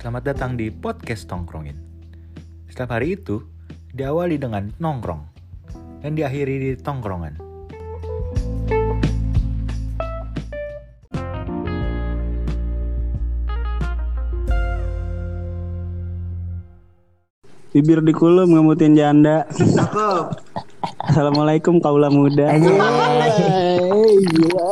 Selamat datang di podcast Tongkrongin. Setiap hari itu diawali dengan nongkrong dan diakhiri di tongkrongan. Bibir dikulum ngemutin janda. Assalamualaikum kaula muda. Gila.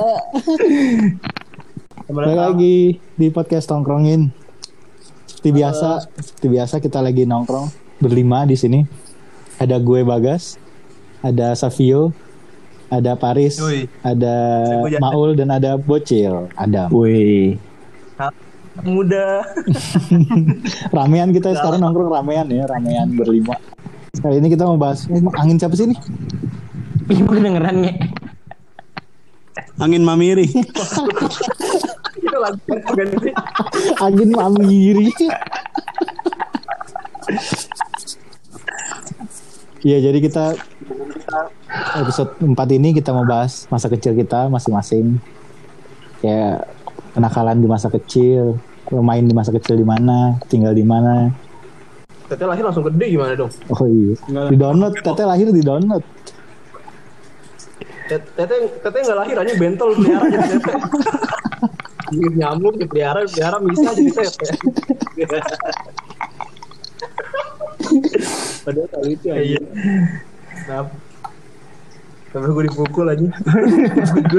Kembali lagi di podcast Tongkrongin. Seperti biasa kita lagi nongkrong berlima di sini. Ada gue Bagas, ada Savio, ada Paris, ada Maul dan ada Bocil, Adam. Wih. Muda. Ramean kita sekarang nongkrong ramean berlima. Kali ini kita mau bahas angin siapa sih nih? Gue dengerannya. Angin mamiri. Itu lagu ganti. Angin mamiri. Iya, jadi kita episode 4 ini kita mau bahas masa kecil kita masing-masing. Kayak kenakalan di masa kecil, main di masa kecil di mana, tinggal di mana. Teteh lahir langsung gede gimana dong? Oh iya. Di download, Teteh lahir di download. Teteh nggak lahir aja bentol pelihara jadi teteh. Nyamuk pelihara bisa jadi teteh. Padahal kali itu aja. Iya. Kenapa? Sampai gue dipukul aja. Gue.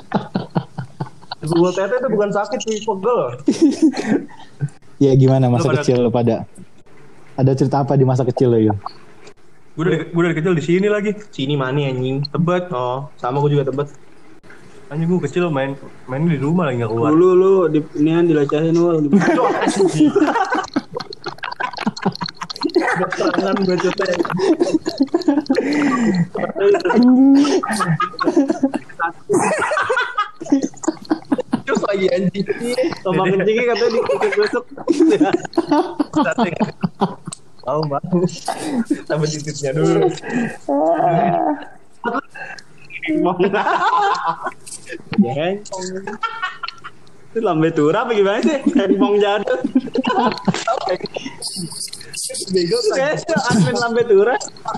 Pukul teteh itu bukan sakit sih, pegel. Ya gimana masa kecil lo pada? Ada cerita apa di masa kecil lo yuk? Gue dari kecil di sini lagi. Sini mana anjing? Tebet. Oh, sama gue juga Tebet. Anjing gue kecil main di rumah lagi nggak keluar. Dulu lu inian dilecahin wal. Keterangan gue cete. Terus lagi anjing. Tombak kencingnya katanya dikutuk-kutuk. Tahu mbak. Tambah titiknya dulu. Itu lambe tura apa gimana sih? Mong jadul. Bego Kayak admin lambe tura.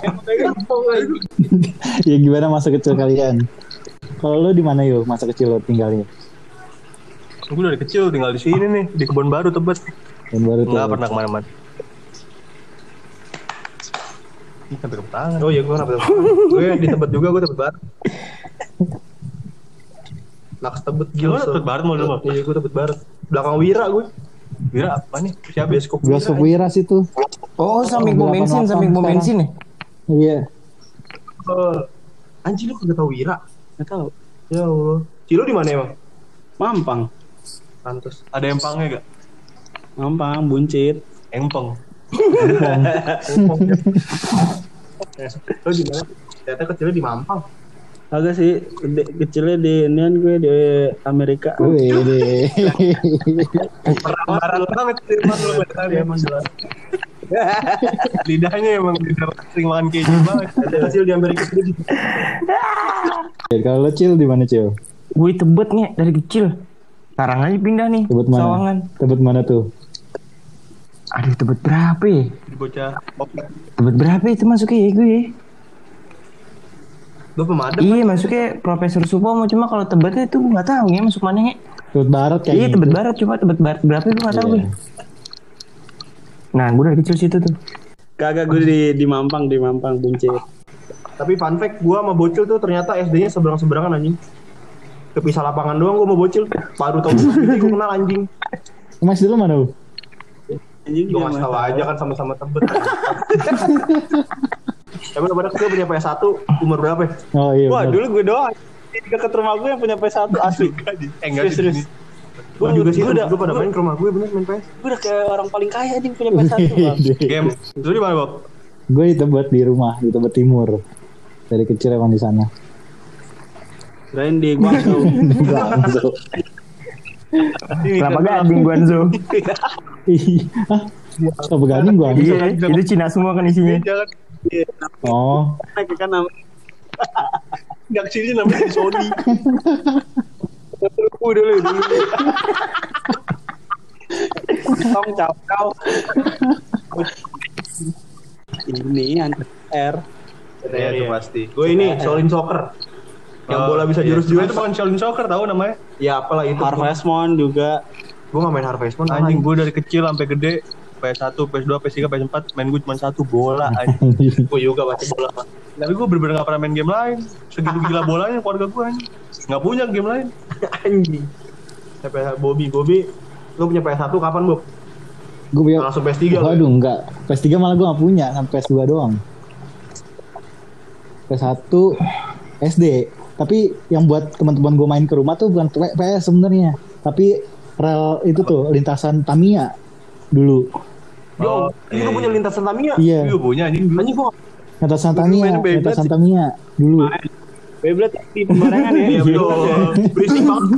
Ya gimana masa kecil kalian? Kalau lo di mana yuk masa kecil lo tinggalnya? Gue dari kecil tinggal di sini nih di Kebon Baru Tebet. Dan baru tuh. Nggak pernah kemana-mana. Ini sampai ke tangan. Oh iya gue kenapa gue di Tebet juga, gue Tebet Barat. Naks Tebet Gila Tebet Barat mau dulu. Iya gue Tebet Barat. Belakang Wira gue. Wira apa nih? Siapa? Bioskop Wira situ. Oh, samping pom bensin ya? Iya. Anjing lu kagak tahu Wira? Enggak tahu. Ya Allah. Cilo di mana emang? Mampang. Pantes. Ada empangnya gak? Mampang buncit. Empang. Lo di mana? Ternyata kecilnya di Mampang. Agak sih kecilnya di inian gue di Amerika. Wih deh. Barat banget Firman lu tadi emang jelas. Lidahnya emang lidah sering makan keju banget. Kecil di Amerika itu. Kalau lo Cil di mana Cil? Gue Tebet nih dari kecil. Sekarang aja pindah nih. Tebet mana? Sawangan. Tebet mana tuh? Aduh, Tebet berapa ya? Di bocah popet. Tebet berapa itu masuknya ya gue? Lo pemadam. Iya, masuknya Profesor Supomo. Cuma kalau Tebetnya itu gue nggak tahu ya masuk mana ya. Tebet Barat kayaknya. Iya, Tebet Barat. Cuma Tebet Barat berapa itu nggak tahu gue. Nah, gue dari kecil situ tuh. Kagak gue di Mampang buncit. Tapi fun fact, gue sama Bocil tuh ternyata SD-nya seberang-seberangan anjing. Kepisah lapangan doang gue sama Bocil. Baru tau gue kenal anjing. Mas dulu mana lu? Anjing Gue ngasih tau aja kan sama-sama Tebet. Tapi lo pada kecil punya PS1 umur berapa ya? Oh iya. Wah, bener. dulu gue doang. Di dekat rumah gue yang punya PS1 asli. Enggak Serius. Gue juga sih, udah gue pada main ke rumah gue bener main PS. Gue udah kayak orang paling kaya anjing punya PS1 bang. Game. Lu di mana, Bob? Gue di Tebet di rumah di Tebet Timur. Dari kecil emang di sana. Kirain di Guangzhou. Guangzhou. Kelapa Gading Guangzhou. Hah? Kelapa Gading Guangzhou. Iya, itu Cina semua kan isinya. Jangan. Oh. Kan nama Nggak kesini namanya Sony. Dulu. Pong, Cakau. Ini R. Iya itu pasti. Gue ini Shaolin Soccer. Yang bola bisa jurus-jurus. Itu bukan Shaolin Soccer tahu namanya. Ya apalah itu. Harvest Moon juga. Gue gak main Harvest Moon. Anjing gue dari kecil sampai gede PS1, PS2, PS3, PS4 main gue cuma satu bola anjing. Gue juga baca bola. Tapi gue bener-bener gak pernah main game lain. Segitu gila bolanya keluarga gue anjing. Gak punya game lain. Anjing. Bobby, lu punya PS1 kapan, Bob? Gue punya. Langsung PS3 lu. Waduh, enggak. PS3 malah gue gak punya, kan PS2 doang. PS1 SD. Tapi yang buat teman-teman gue main ke rumah tuh bukan PS sebenarnya, tapi rel itu tuh lintasan Tamiya dulu. Yo, lu punya lintasan Tamiya? Iya, Gue punya anjing dulu. Anjing gua lintasan Dulu Tamiya, main Beyblade lintasan sih. Tamiya dulu. Beyblade di pembarengan ya. Iya betul. Berisik banget.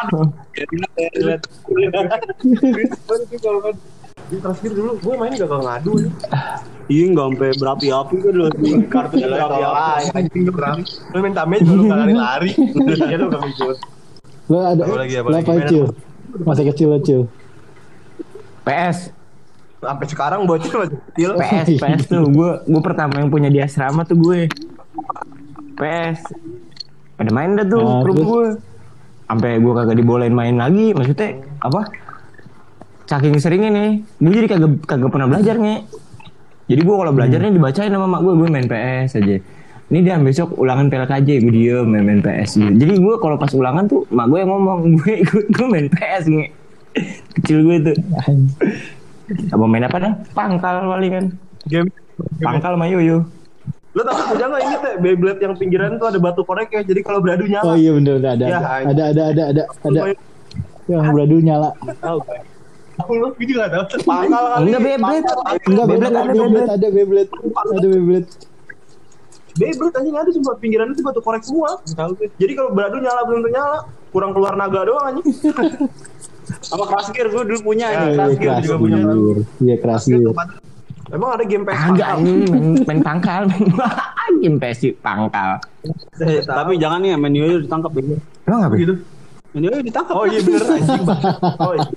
Di terakhir dulu gue main gak ngadu nih. Iya nggak sampai berapi-api kan lu. Kartu berapi-api. Anjing berapi. Lu main Tamiya juga lu gak lari-lari. Iya lu gak ikut. Lo ada Apa lagi, apa lo lagi? apa Cil? Masa kecil lo Cil. PS. Sampai sekarang bocil masih kecil. PS tuh gue pertama yang punya di asrama tuh gue. PS. Pada main dah tuh Nah, ke rumah terus? gue. Sampai gue kagak dibolehin main lagi, maksudnya apa? Saking seringnya nih, gue jadi kagak pernah belajar nih. Jadi gue kalau belajarnya dibacain sama mak gue main PS aja. Ini dia besok ulangan PLKJ, gue diem main PS gitu. Jadi gue kalau pas ulangan tuh mak gue yang ngomong, gue main PS nih. Kecil gue tuh. Apa main apa dah? Pangkal paling kan. Game. Pangkal sama yoyo. Lu tau punya gak inget ya Beyblade yang pinggiran tuh ada batu korek ya. Jadi kalau beradu nyala. Oh iya bener ada. Ya, Ada. Yang beradu nyala. Lu juga gak tau. Pangkal kali. Enggak Beyblade. Enggak Beyblade ada, Beyblade. ada Beyblade. Ada Beyblade. Beyblade anjing ada cuma pinggiran itu batu korek semua. Jadi kalau beradu nyala belum nyala. Kurang keluar naga doang anjing. Sama Crash Gear gue dulu punya Iya, ini. keras juga punya. Iya keras gitu. Emang ada game PS Agak pangkal? ini main pangkal, game PS pangkal. Tapi jangan nih main yoyo ditangkap ya. Emang apa Begitu. Main yoyo ditangkap. Oh iya bener anjing. Oh iya.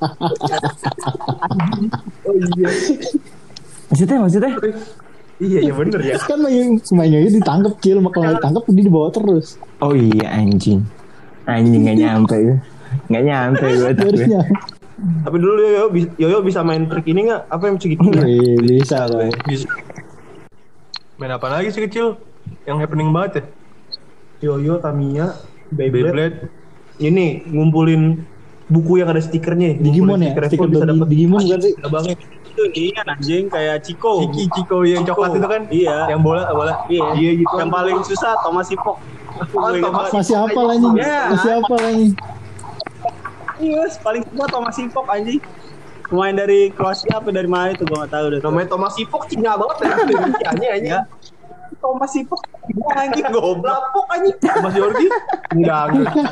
Oh iya. Maksudnya? Iya bener ya. Kan mainnya ditangkap Cil, kalau ditangkap dia dibawa terus. Oh iya anjing nggak nyampe gue. Nggak nyampe gue tapi. Harusnya. Tapi dulu Yoyo bisa main trik ini nggak? Apa yang segitu? Bisa lah. Bisa. Main apa lagi sih kecil? Yang happening banget ya? Yoyo, Tamiya, Beyblade. Beyblade. Ini ngumpulin buku yang ada stikernya. Digimon ya? Stiker Digimon kan sih? Abangnya. Itu ini kan anjing kayak Ciko. Ciko yang coklat itu kan? Iya. Yang bola. Iya gitu. Yang paling susah Thomas Sipok. Masih apa lagi? Ya. Masih apa lagi? Iya, paling susah Thomas Sipok anjing. Pemain dari Kroasia apa dari mana itu gua enggak tahu deh. Namanya Thomas Sipok Cina banget ya. Cina anjing. Thomas Sipok gua anjing goblok. Lapok anjing. Mas Yorgi? Enggak.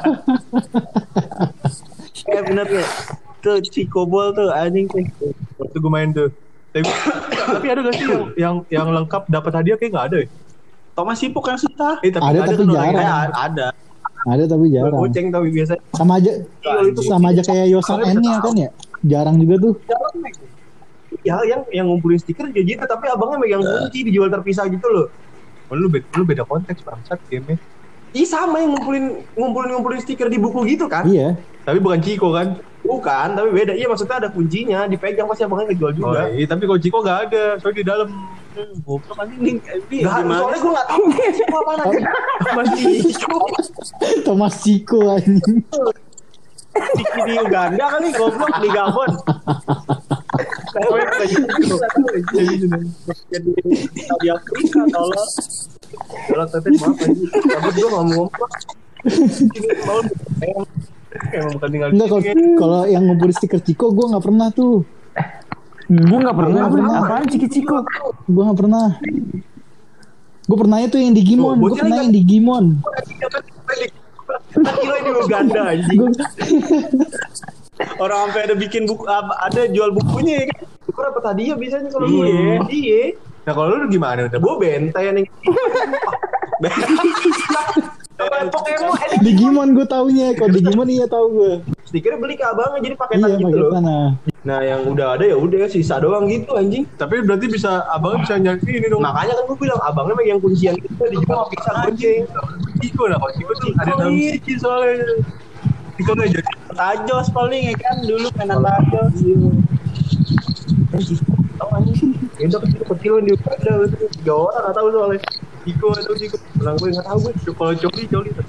Bener ya. Tuh Ciko Ball tuh anjing tuh. Waktu gue main tuh. Tapi ada gak sih yang lengkap dapat hadiah kayak nggak ada ya? Thomas Sipok yang susah. Ada tapi tuh jarang. Ada. Ada tapi jarang. Goceng tapi biasa. Sama aja kayak Yosan N-nya kan ya. Jarang juga tuh. Ya yang ngumpulin stiker juga gitu. Tapi abangnya megang kunci dijual terpisah gitu loh. Oh, lu beda konteks bangsat game-nya. Ih sama yang ngumpulin stiker di buku gitu kan? Iya. Tapi bukan Ciko kan? Bukan, tapi beda. Iya maksudnya ada kuncinya, dipegang pasti abangnya ngejual Oh juga. iya, tapi kalau Ciko nggak ada, soalnya di dalam. Goblok anjing ini Gak, soalnya gue gak tau Ciko apaan aja. Masih Ciko. Thomas Ciko anjing. Ciki di Uganda kali goblok di Gabon. Jadi di Afrika tolong. Kalau tete maaf aja. Tapi gue gak mau ngomong. Emang bukan tinggal Enggak, kalau yang ngumpulin stiker Ciko gue nggak pernah tuh. Gue nggak pernah. Nggak pernah. Apaan Ciko? Gue nggak pernah. Gue pernahnya tuh yang Digimon. Gue pernah yang Digimon. Gila di Uganda anjing. Orang sampai ada bikin buku ada jual bukunya ya kan. Gue dapet hadiah biasanya kalau Iya. gue. Iya. Nah kalau lu gimana? Gue benteng nih. Pokemon Digimon gue taunya. Kalau Digimon iya tahu gue. stikernya beli ke abangnya jadi paketan Iya gitu pakai loh. sana. Nah yang udah ada ya udah sisa doang gitu anjing. Tapi berarti abangnya bisa nyari ini dong. Makanya kan gue bilang abangnya megang kuncian itu dijual bisa gonceng. Ciko lah, kalau Ciko tuh ada dalam sih soalnya. Ciko nggak jadi. Tajos paling ya kan dulu mainan tajos. Tahu anjing. Ya udah kecil di ada 3 orang nggak tahu soalnya. Ciko atau Ciko. Bilang gue nggak tahu gue. Kalau Coli.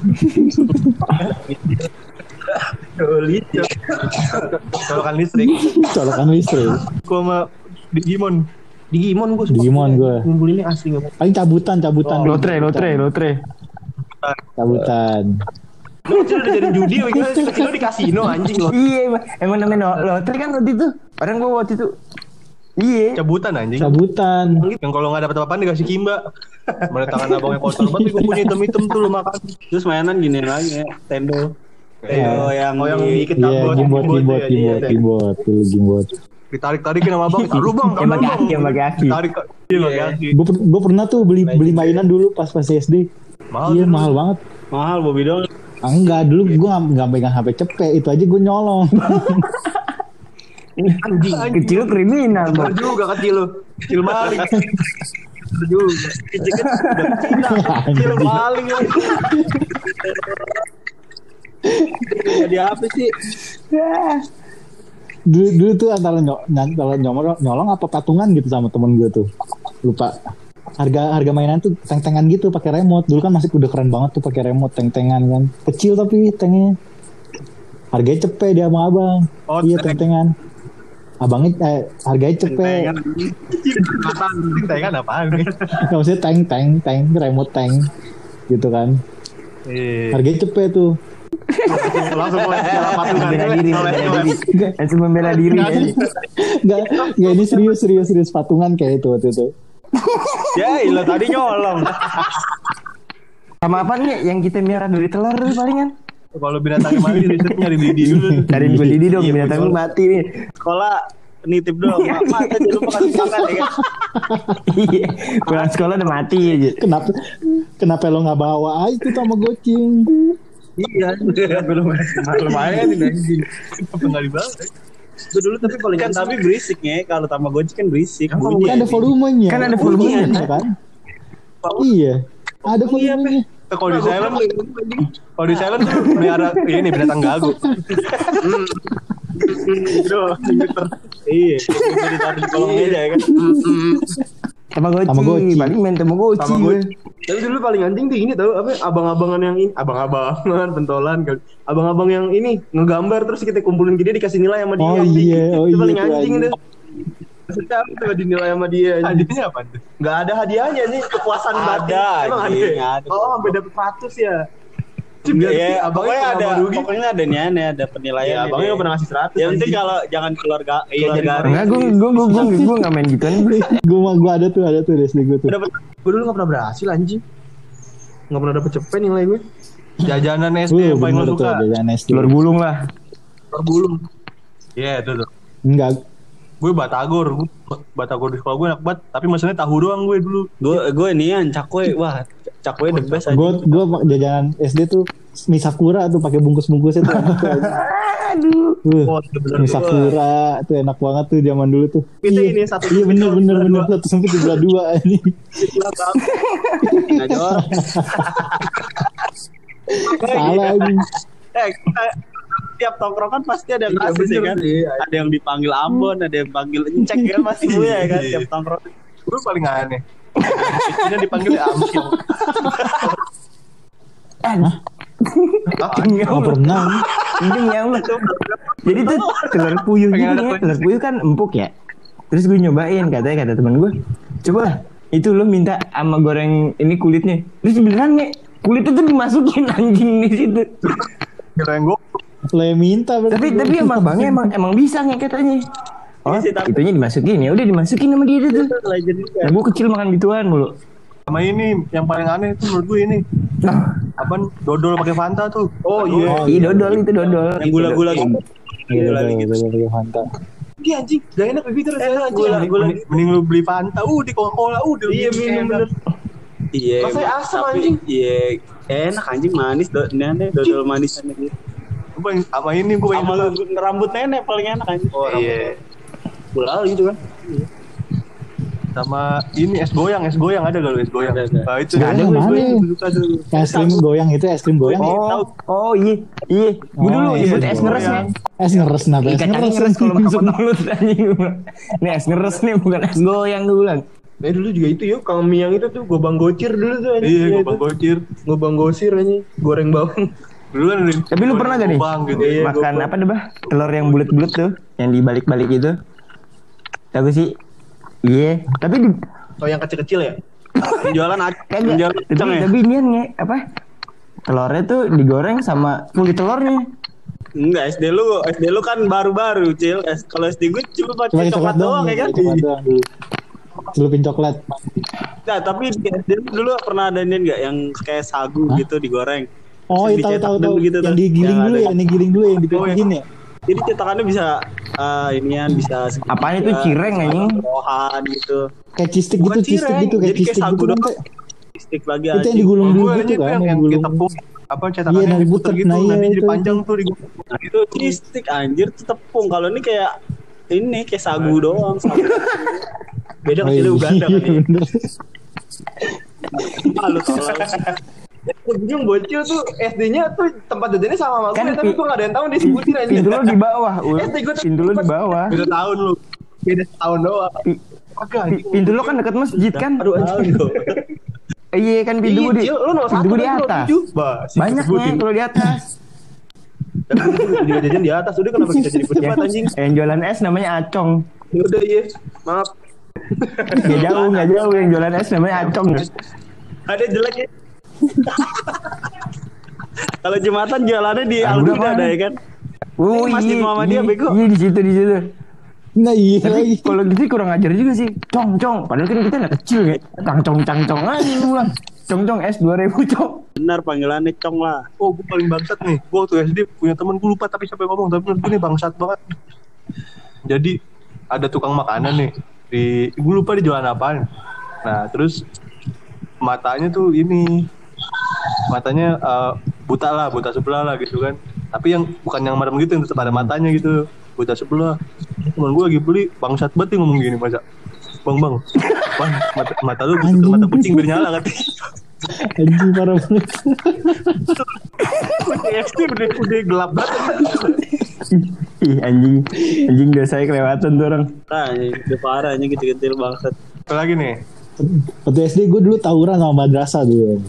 Coli. Colokan listrik. Colokan listrik. Gua sama Digimon. Digimon gue. Digimon gue. Ngumpulin ini asli nggak? Paling cabutan. Lotre. Cabutan. Lu kecil udah jadi judi, kecil di kasino anjing lo. Iya, emang namanya lotre kan waktu itu. Orang gua waktu itu. Iya. Cabutan anjing. Cabutan. Yang kalau nggak dapet apa-apaan dikasih kimba. Mana tangan abangnya kotor banget, gue punya hitam-hitam tuh lu makan. Terus mainan gini lagi ya, Tendo. Tendo yang dikit Iya, gimbot. Dulu gimbot. Ditarik-tarikin sama abang. Taruh bang, Yang pakai aki. Tarik, iya pakai aki. Gue pernah tuh beli mainan dulu pas SD. Iya, mahal banget. mahal Bobby dong. Enggak, dulu gue nggak pegang HP cepet, itu aja gue nyolong. Anjing kecil kriminal, Bang. Juga kecil lo. Kecil maling. Juga. Kecil paling lagi. Jadi apa sih? Dulu tuh antara nyolong apa patungan gitu sama temen gue tuh, lupa. Harga mainan tuh teng-tengan gitu pakai remote. Dulu kan masih udah keren banget tuh pakai remote teng-tengan kan. Kecil tapi tengnya. Harganya cepet dia sama abang. Oh, iya teng-tengan. Abangnya harganya cepet. Tengan apaan nih? Nggak maksudnya teng remote tank gitu kan. Harganya cepet tuh. Langsung mulai membela diri. Enggak ini serius patungan kayak itu waktu itu. Ya ilah tadi nyolong. Sama apa nih yang kita miara dari telur dulu palingan? Kalau binatangnya mati risetnya nyari Didi dulu. Cariin gue Didi dong, binatang lu mati nih. Sekolah nitip doang. Mak tadi lupa kasih makan ya kan. Iya, pulang sekolah udah mati aja. Kenapa lo nggak bawa aja tuh sama gocing? Iya, belum lumayan ini anjing. Apa nggak dibawa? Itu dulu tapi paling kan tapi berisik ya. Kalau Tamagotchi kan berisik. Kan ada volumenya. Kan ada volumenya kan? Iya, ada volumenya. Kalau di silent tuh melihara ini binatang gagu. Iya, ditaruh di kolong meja ya kan. Tamagotchi, paling main Tamagotchi. Tapi dulu paling anjing tuh ini tahu apa abang-abangan yang ini, abang-abangan pentolan kali. Abang-abang yang ini ngegambar terus kita kumpulin dia dikasih nilai sama dia. Itu paling anjing itu. Maksudnya apa tuh dinilai sama dia? Hadiahnya apa tuh? Gak ada hadiahnya nih, kepuasan batin. Emang ada. Oh, sampai dapet 100 ya. Iya, pokoknya ada nih, ada penilaian. Ya, abangnya pernah ngasih 100. Yang penting kalau jangan keluar garis. Enggak, gue nggak main gituan. Gue ada tuh SD gue tuh. Gue dulu nggak pernah berhasil anjing. Nggak pernah dapet cepet nilai gue. Jajanan SD yang paling lo suka. Jajanan SD. Telur gulung lah. Telur gulung. Iya itu tuh. Enggak. Gue batagor di sekolah gue enak banget. Tapi maksudnya tahu doang gue dulu. Gue nian cakwe, wah cakwe the best aja. Gue jajanan SD tuh mie sakura tuh pakai bungkus-bungkusnya tuh. Aduh. Mie sakura tuh enak banget tuh zaman dulu tuh. Itu ini satu. Iya bener 1 sampai 32 ini. Nggak jawab. Salah ini. Tiap tongkrongan pasti ada yang kasus ya kan. Ada yang dipanggil Ambon, ada yang panggil Encek ya masih ya kan tiap tongkrongan. Gue paling aneh. Ini dipanggil Amsil. Nggak pernah. Ya Allah. Jadi tuh telur puyuh gitu ya. Telur puyuh kan empuk ya. Terus gue nyobain kata teman gue. Coba itu lo minta sama goreng ini kulitnya. Terus beneran nih kulitnya tuh dimasukin anjing di situ. Goreng gue. Lo yang minta tapi emang bangnya emang bisa nih katanya. Oh, itunya dimasukin ya udah dimasukin sama dia tuh. Nah, gue kecil makan gituan mulu. Sama ini yang paling aneh itu menurut gue ini. Apaan dodol pakai Fanta tuh. Oh iya. Iya dodol itu dodol. Yang gula-gula gitu. Gula gitu. Fanta. Iya anjing, gak enak begitu rasanya anjing. Mending lu beli Fanta, di Coca-Cola, Iya bener. Iya. Rasanya asam anjing. Iya, enak anjing manis dodol manisannya gitu. Gue sama ini gue sama rambut nenek paling enak anjing. Oh iya. Bola gitu kan. Sama ini es goyang ada gak lu es goyang? Ada. Nah, itu Nggak ada, es mana? goyang suka dulu. Es krim goyang itu es krim goyang. Oh iya. Gue dulu Oh, nyebut iya, es ngeres nih. Es ngeres kenapa? Es Kacang ngeres ngeres kalau masuk mulut anjing. Nih es ngeres nih bukan es goyang gue bilang. Dulu juga itu yuk, kalau mie yang itu tuh gobang gocir dulu tuh anjing. Iya, Itu. gobang gocir. Gobang gocir anjing, goreng bawang. Dulu kan Tapi lu pernah gak nih gobang gitu. Iya, makan gua- apa deh bah? Telur yang bulat-bulat tuh, yang dibalik-balik itu. Tahu sih? Iya. Tapi di Oh yang kecil-kecil ya? Jualan aja. kagak. Jualan Tapi ya. tapi ini apa? Telurnya tuh digoreng sama kulit telurnya. Enggak, SD lu kan baru-baru, Cil. Kalau SD gue cuma Cuma pakai coklat doang ya kan. coklat doang dulu. Celupin coklat. Nah, tapi di SD lu dulu pernah ada ini enggak yang kayak sagu gitu digoreng. Oh, Terus iya dicetak tahu dulu gitu yang tuh. digiling Yang dulu ada. ya, yang digiling dulu yang dipikirin ya. Jadi cetakannya bisa inian bisa segitiga, Apaan itu cireng, anjing? rohan gitu. Kayak cheese stick Bukan gitu, cheese stick cireng, gitu, kayak jadi cheese kayak stick sagu gitu kan. doang. Kayak. Stick lagi Itu yang anjing. digulung dulu Gue gitu aja kan, yang yang digulung. tepung apa Iya, cetakannya dari diputer butek. gitu Nah, iya, nanti jadi itu. panjang tuh di Nah, itu cheese stick anjir itu tepung. Kalau ini kayak sagu doang. Sagu. Beda Oh, kecilnya Uganda kan iya, ya. bener. Malu tolong. Ujung bocil tuh SD-nya tuh tempat jajannya sama sama Kan gue, tapi gue gak ada yang tahu disebutin aja. Pintu lo di bawah, Ul. SD gue tuh Pintu lo di bawah. Beda tahun lu. beda setahun doang. Agak Pintu lo kan dekat masjid kan? Aduh anjing. Iya kan pintu gue di Cil, lu 01 pintu gue di kan, lu atas. 07. Bah, sih, Banyaknya disebutin. kalau di atas. Tapi kita juga jajan di atas. Udah kenapa kita jadi berdebat anjing? Yang jualan es namanya Acong. Udah iya. Maaf. Nggak jauh yang jualan es namanya Acong. Ada jelek ya. Kalau Jumatan jualannya di Ah, Aldi udah, ada Bang. ya kan? Oh Masjid Muhammadiyah, bego. Iya di situ di situ. Nah, iya Tapi lagi. kalau gitu kurang ajar juga sih. Cong. Padahal kan kita anak kecil ya. Cangcong aja lu bilang. Cong es 2000 cong. Benar panggilannya Cong lah. Oh, gue paling bangsat nih. Gue waktu SD punya temen, gue lupa tapi siapa yang ngomong. Tapi menurut gue nih bangsat banget. Jadi ada tukang makanan nih. Gue lupa di jualan apaan. Nah, terus matanya tuh ini. Matanya buta sebelah lah gitu kan. Tapi yang bukan yang merem gitu, yang tetap ada matanya gitu. Buta sebelah. Temen gue lagi beli, bangsat banget nih ngomong gini masa. Bang, mata lu butuh mata kucing biar nyala katanya. Anjing parah banget. SD udah gelap banget. Ih anjing udah saya kelewatan tuh orang. Nah, ini udah parah ini kecil-kecil bangsat. Apa lagi nih? Waktu SD gue dulu tawuran sama madrasah dulu.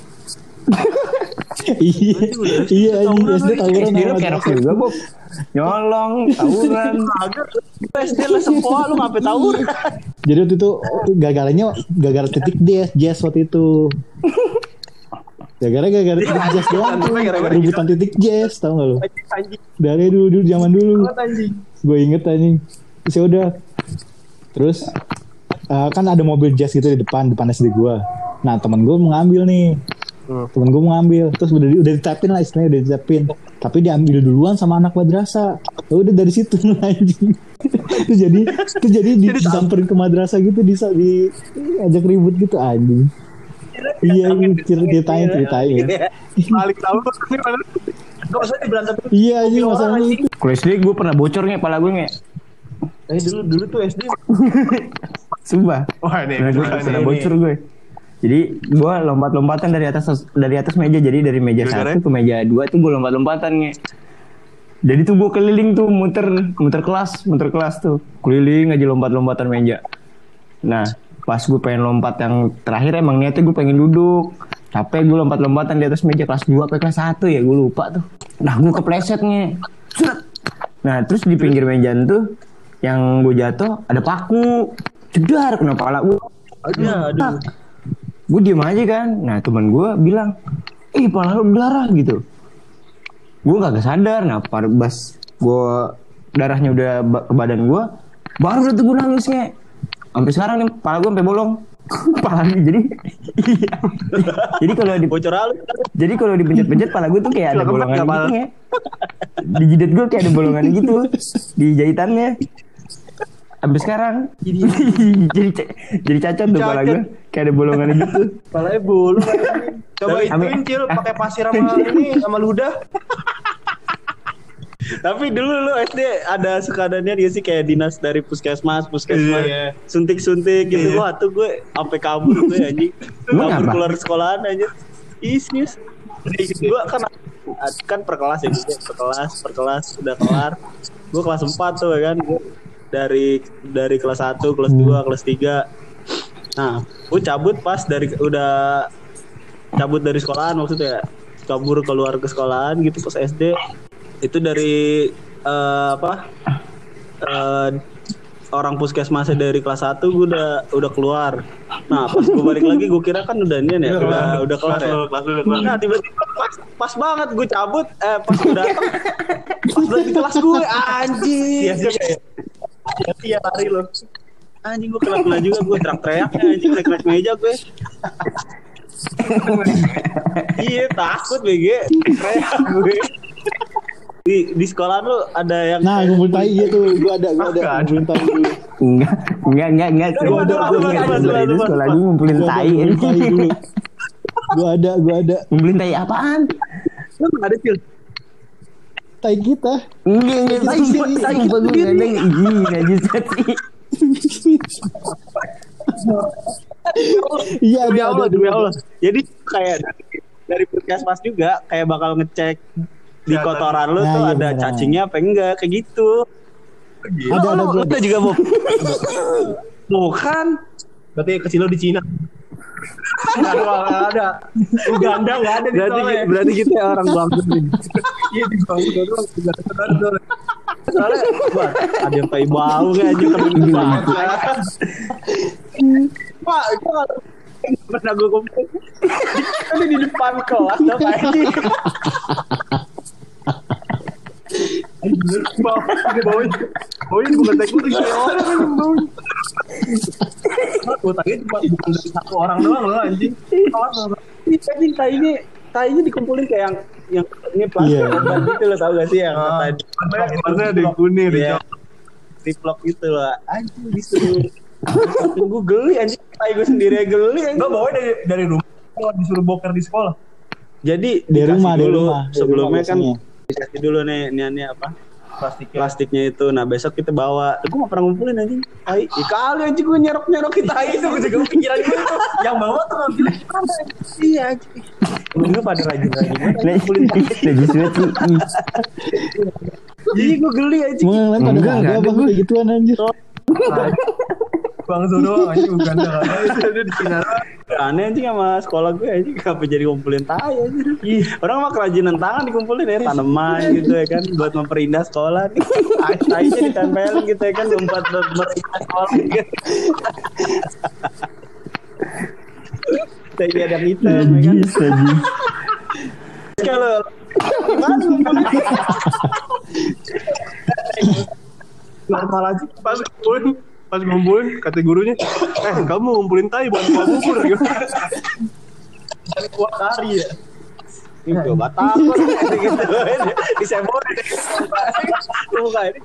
Iya anjing SD tawuran SD sama lu kerok madrasah. juga Bob. Nyolong, tawuran. Agak SD lah sempoa lu ngapain tawuran. Jadi waktu itu gara-gara titik jazz waktu itu. Gara-gara titik jazz doang tuh. Rebutan titik jazz tau gak lu? Anjing. Dari dulu zaman dulu. Anjing. Gue inget anjing. Terus ya udah. Terus kan ada mobil jazz gitu di depan SD gue. Nah temen gue mau ngambil nih. Terus udah ditapin lah istilahnya, udah ditapin. Tapi diambil duluan sama anak madrasah. Ya udah dari situ anjing. Itu jadi disamperin ke madrasah gitu, diajak ribut gitu anjing. Iya, ceritain. Balik tahu ini mana? Gak usah diberantem. Iya anjing masalah itu. Kalau SD gue pernah bocor nih kepala gue nge. Dulu tuh SD. Sumpah. Wah, ini Pernah bocor gue. Jadi gue lompat-lompatan dari atas meja. Jadi dari meja Gara-gara? 1 ke meja 2 tuh gue lompat-lompatan nge. Jadi tuh gue keliling tuh muter kelas tuh. Keliling aja lompat-lompatan meja. Nah pas gue pengen lompat yang terakhir emang niatnya gue pengen duduk. Capek gue lompat-lompatan di atas meja kelas 2 ke kelas 1 ya gue lupa tuh. Nah gue kepleset nge. Nah terus di pinggir meja tuh yang gue jatuh ada paku. Jedar kena kepala gue. Aduh. Gue diem aja kan. Nah teman gue bilang, kepala lu berdarah gitu. Gue kagak sadar. Nah pas gue darahnya udah ke badan gue, baru tuh gue nangisnya. Sampai sekarang nih kepala gue sampai bolong. Kepala jadi iya. Jadi kalau dipencet-pencet kepala gue tuh kayak ada bolongan gitu ya. Di jidat gue kayak ada bolongan gitu di jahitannya. Sampai sekarang jadi cacat tuh kepala gue kayak ada bolongan gitu. Kepalanya bolong. Coba ituin Cil pakai pasir sama ini sama ludah. Tapi dulu lu SD ada sekadanya dia sih kayak dinas dari puskesmas, Iya. suntik-suntik gitu. Wah tuh gue sampai kabur tuh anjing. Kabur apa? keluar sekolahan aja. Serius. Gue kan per kelas ya gitu. Per kelas udah kelar. Gue kelas 4 tuh ya kan. Gue dari kelas 1, kelas 2, kelas 3. Nah, gue cabut pas udah cabut dari sekolahan maksudnya. Kabur keluar ke sekolahan gitu pas SD. Itu dari orang puskesmasnya dari kelas 1 gue udah keluar. Nah pas gue balik lagi gue kira kan udah ini ya udah kelar ya. Nah tiba-tiba pas banget gue cabut pas gue datang pas udah di kelas gue anjing. Iya lari loh. Anjing gue kena juga gue teriak-teriak anjing naik meja gue. Iya takut BG teriak gue. Di sekolah lu ada yang Nah, ngumpul tai gitu. Gua ada ngumpulin tai dulu. Enggak. Gua ada Itu sekolah gue ngumpulin tai. dulu. Gua ada. Ngumpulin tai apaan? lu nggak ada Cil. Tai kita. Enggak. Tai gue enggak ada. Enggak bisa sih. Iya, Demi Allah. Jadi kayak dari puskesmas juga kayak bakal ngecek di kotoran lu Nah, tuh iya, ada bener. cacingnya apa enggak kayak gitu. Ada gua. Lu juga mau. Bukan. Berarti kecil lo di Cina. Enggak ada. Uganda enggak ada di sekolah. Berarti kita orang Bangladesh nih. Iya di Uganda doang. Soalnya wah, ada yang kayak bau kayak aja keren banget. Pak, itu pernah gue kumpul. Ini di depan kelas apa ini? Baunya bukan tai kucing, kayak orang yang baunya. Gue tanya cuma bukan dari satu orang doang loh anjing. Ini anjing kayaknya dikumpulin kayak yang ini plastik Iya. obat gitu lo tau gak sih yang tadi Warnanya ada yang kuning, ada yang Ziploc gitu loh anjing disuruh saking gue geli anjing tai gue sendiri aja geli anjing. Gue bawa dari rumah. Gue disuruh boker di sekolah. Jadi Di dikasih rumah, dulu di sebelumnya rumah kan biasanya. dikasih dulu nih apa plastiknya itu. Nah besok kita bawa. Gue gak pernah ngumpulin anjing. Tai. Ya kali anjing gue nyerok kita itu gue juga pikiran gue tuh. Yang bawa tuh ngambilnya gimana? Iya anjing. Gue pada rajin-rajin ngumpulin. Najis banget sih. Iya gue geli anjing. Mau yang lain pada Enggak ada ada apa gua. kayak gituan anjir. Bang Zono anjing Uganda enggak ada. Itu ada di Cina. Aneh anjing sama sekolah gue anjing. Kenapa jadi ngumpulin tai anjing. Orang mah kerajinan tangan dikumpulin ya. Tanaman gitu ya kan. Buat memperindah sekolah nih. Tai-tainya ditempelin gitu ya kan. Buat memperindah sekolah gitu. Tai ada kita ya kan. Najis aja. Kalau gimana ngumpulin? Normal aja. pas ngumpulin kata gurunya, kamu ngumpulin tai buat kuah bubur gitu. Kuah kari ya. Ini coba takut gitu. Disembor. Bukan ini.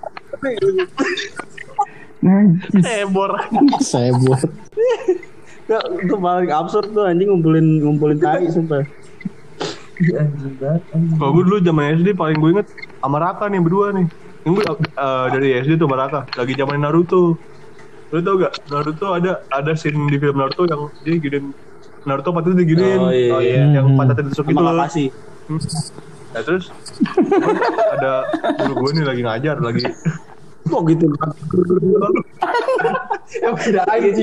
Najis. Ebor. Saya buat. Itu paling absurd tuh anjing ngumpulin tai sumpah. Kalau gue dulu zaman SD paling gue inget sama Raka nih berdua nih. Yang gue dari SD tuh sama Raka lagi zaman Naruto. Lu tau gak Naruto ada scene di film Naruto yang dia giniin Naruto patutnya diginiin. Oh, iya. Yang pantatnya ditusuk gitu Sama loh. makasih. Nah terus ada guru gue nih lagi ngajar lagi. Kok gitu? Yang udah anjing.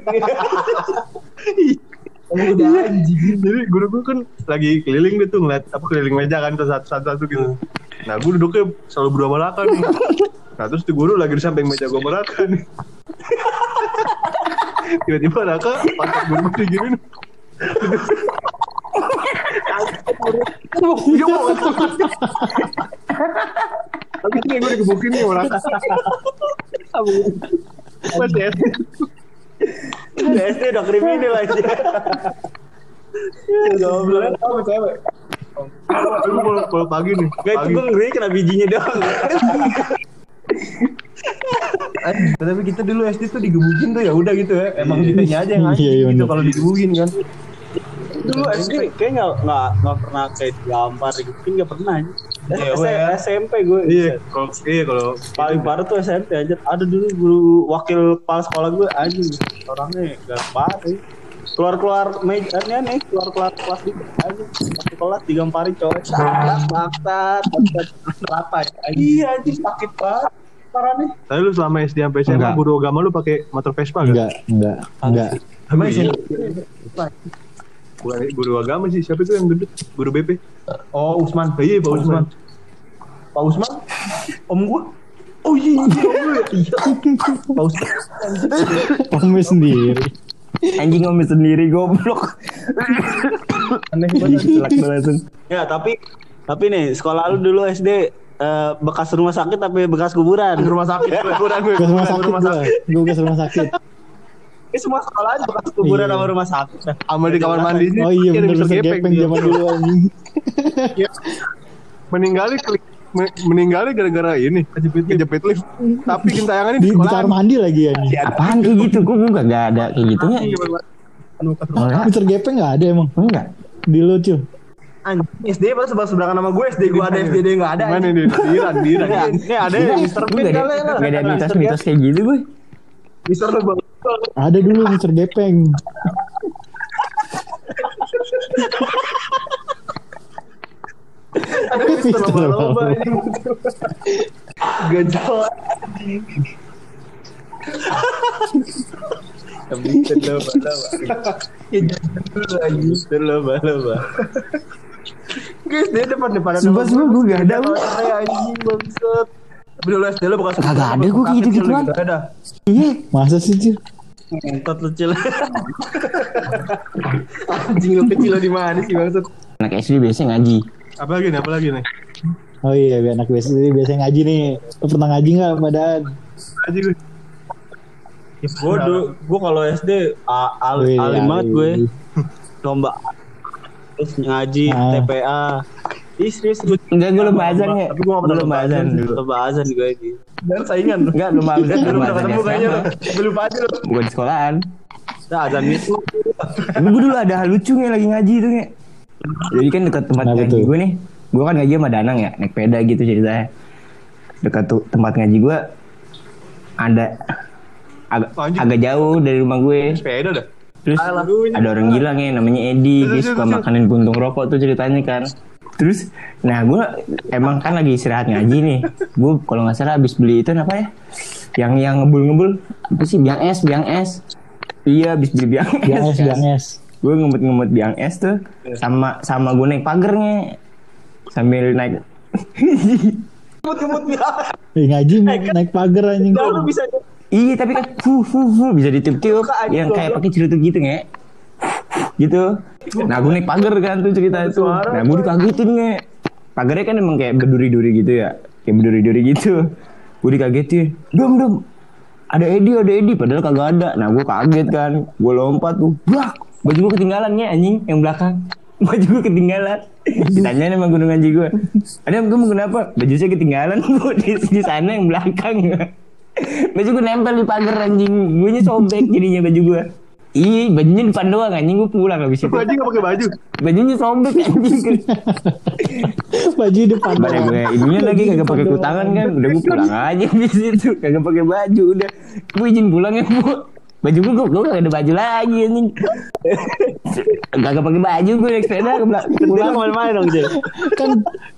Yang udah anjing. Jadi guru gue kan lagi keliling gitu ngeliat keliling meja kan satu-satu gitu. Nah gue duduknya selalu berdua sama Raka nih. Nah terus tuh guru lagi di samping meja gue sama Raka nih. Tiba-tiba Raka pantat guru digini nih. Tapi kayak gue digebukin nih sama Raka. Masih SD. SD udah kriminal aja. Goblok apa cewek? Aku kalau pagi nih. Gak itu gue ngeri kena bijinya doang. Tapi kita dulu SD tuh digebukin tuh ya udah gitu ya. Emang kitanya aja yang anjing Iya, gitu bener. kalau digebukin kan. dulu SD kayak nggak pernah kayak digampar gitu, nggak pernah. SMP gue. Iya, kalau paling parah tuh SMP aja. Ada dulu guru wakil kepala sekolah gue aja, orangnya gak parah. Keluar meja nih, keluar kelas gitu aja. Waktu kelas digamparin cowok. Baksat. Apa ya? Iya anjing sakit banget. Parah nih. Tapi lu selama SD sampai SMA guru agama lu pakai motor Vespa enggak? Enggak. Emang sih? Bukan guru agama sih, siapa itu yang gendut? Guru BP. Oh, Usman. Iya, Pak Usman. Pak Usman? Om gua. Oh iya, om gue. Iya. Pak Usman. Omnya sendiri. Anjing ngomong sendiri goblok. Aneh banget. Ya, tapi nih sekolah lu dulu SD bekas rumah sakit tapi bekas kuburan. Rumah sakit. Gue ke rumah sakit. Ini semua sekolah aja bekas kuburan sama rumah sakit. Sama di kamar mandi sih. Oh iya ada bener, Mr. Mr. Gepeng zaman dulu anjing. Meninggalnya gara-gara ini kejepit lift. Tapi gentayangannya Di di kamar sekolah. mandi lagi anjing. Apaan kayak gitu? Gue gak ada kayak gitunya. Enggak. Mr. Gepeng enggak ada emang. Enggak. Di lu cuy. Anjing, SD pada sebelah-sebelahan sama gue. SD gue ada, FDD enggak ada. Mana nih? Diran. Ini ada Mr. Gue Pin gak kali lah. ada mitos-mitos kayak gitu gue. Mister lu bang. Ada dulu Mr. Gepeng. Ada Mister lomba-lomba anjing. Gajah. Mr. Lomba-lomba. Guys, dia depan-depan. Sumpah gue gak ada. Anjing bangsat. Tapi dulu SD lu bekas Kagak ada gue kayak gitu-gituan. Ada. Iya. Masa sih cuy? Entot lu Cil. Anjing lu kecil lu di mana sih bangsat? Anak SD biasanya ngaji. Apa lagi nih? Oh iya, anak biasanya ngaji nih. Lu pernah ngaji enggak padahal? Aja gue. Gue kalau SD alim banget gue. Lomba terus ngaji TPA. Serius gue. Enggak, gue lomba azan ya. Tapi gue gak pernah lomba azan dulu. Lomba azan gue ini. Dan saingan lu. Enggak, lomba azan. Belum Lomba pernah azan ketemu kayaknya lu. SMA. Gue lupa aja lu. Bukan di sekolahan. Nah, azan itu Tapi gue dulu ada hal lucu nih lagi ngaji tuh nih. Jadi kan dekat tempat Kenapa ngaji tuh? gue nih. Gue kan ngaji sama Danang ya, naik peda gitu ceritanya. Dekat tempat ngaji gue ada agak jauh dari rumah gue. Sepeda dah. Terus ada orang gila nih namanya Edi, dia suka makanin puntung rokok tuh ceritanya kan. Terus, nah gue emang kan lagi istirahat ngaji nih. Gue kalau nggak salah abis beli itu apa ya? Yang ngebul apa sih? Biang es. Iya, abis beli biang es. Gue ngemut biang es tuh sama gue naik pagernya sambil naik. Ngaji naik pagar anjing. lu bisa Iya tapi kan bisa ditiup-tiup yang kayak pakai celutuk gitu nge. Gitu. Nah gue naik pagar kan tuh cerita itu. Nah gue dikagetin nge. Pagarnya kan emang kayak berduri-duri gitu ya. Kayak berduri-duri gitu. Gue dikagetin. Dom. Ada Edi padahal kagak ada. Nah gue kaget kan. Gue lompat tuh. Brak. Baju gue ketinggalan nge anjing yang belakang. Baju gue ketinggalan. Ditanyain sama gunung ngaji gue. Ada kamu kenapa? Baju saya ketinggalan bu di sana yang belakang. Baju gue nempel di pagar anjing. Gue nya sobek jadinya baju gue. Ih, bajunya depan doang anjing, gue pulang habis itu. Baju gak pakai baju. Bajunya sobek anjing. Baju depan. Pada gue ininya lagi kagak pakai kutangan kan. Udah gue pulang aja di situ. Kagak pakai baju udah. Gue izin pulang ya, Bu. Baju gue kagak ada baju lagi anjing. Kagak pakai baju gue naik sepeda ke pulang kemana-mana dong Cil. Kan